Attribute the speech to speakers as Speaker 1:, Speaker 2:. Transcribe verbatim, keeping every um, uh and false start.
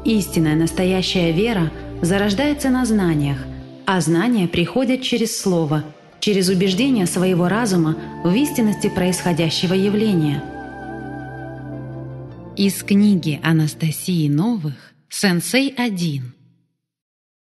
Speaker 1: Истинная настоящая вера зарождается на знаниях, а знания приходят через слово, через убеждение своего разума в истинности происходящего явления. Из книги Анастасии Новых «Сенсей один».